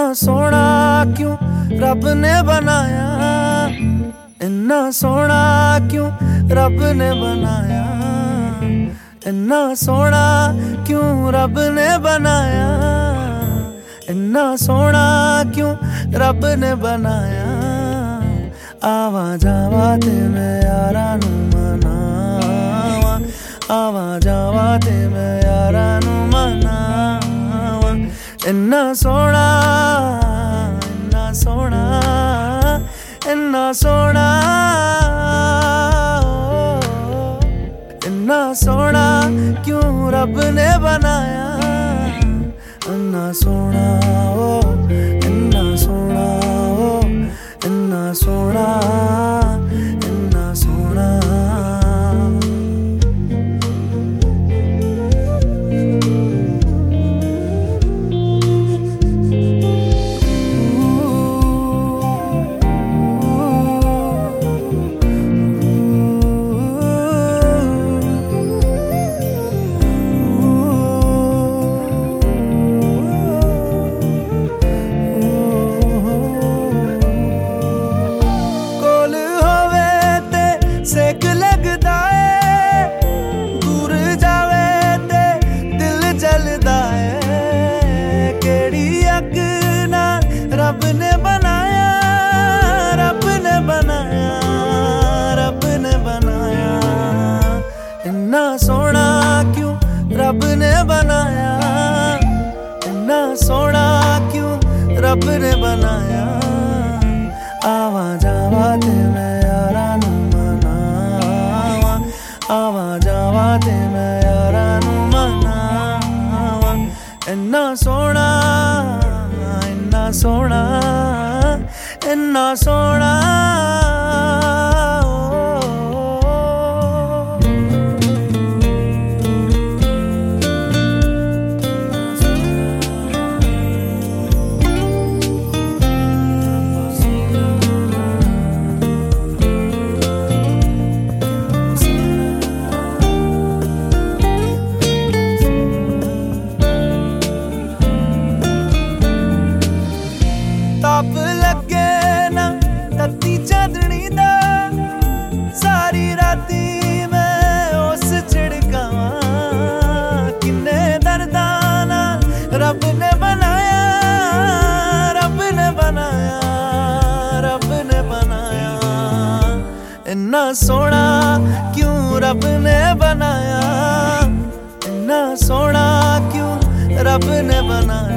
सोना क्यों रब ने बनाया, इन्ना सोना क्यों रब ने बनाया, इन्ना सोना क्यों रब ने बनाया, इन्ना सोना क्यों रब ने बनाया। आवा जावा ते मैं यारा नू मनावा, आवा जावा ते मैं यारा नू मनावा। इन्ना सोना, इन्ना सोना, इन्ना सोना, इन्ना सोना क्यों रब ने बनाया, इन्ना सोना ओ, इन्ना सोना ओ, इन्ना सोना, इन्ना सोना। सेक लगदा है, दूर जावे ते दिल जलदा है। केड़ी अग नाल रब ने बनाया, रब ने बनाया, रब ने बनाया। इन्ना सोना क्यों रब ने बनाया, इन्ना सोना क्यों रब ने बनाया। आवा जावा ते मैं यारा नू मनावा, आवा जावा ते मैं यारा नू मनावा। इन्ना सोना, इन्ना सोना, इन्ना सोना। ताप लगे ना तत्ती चांदनी दा, सारी राती मैं उस चिड़कावा। किन्ने दर्दां नाल रब ने बनाया, रब ने बनाया, रब ने बनाया। इन्ना सोना क्यों रब ने बनाया, इन्ना सोना क्यों रब ने बनाया।